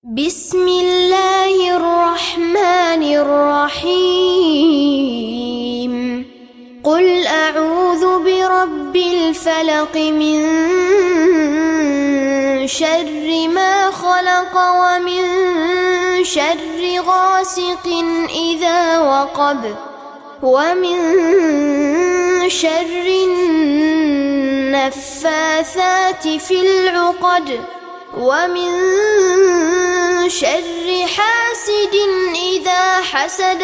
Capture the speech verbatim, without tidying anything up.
بسم الله الرحمن الرحيم قل أعوذ برب الفلق من شر ما خلق ومن شر غاسق إذا وقب ومن شر النفاثات في العقد ومن شر حاسد إذا حسد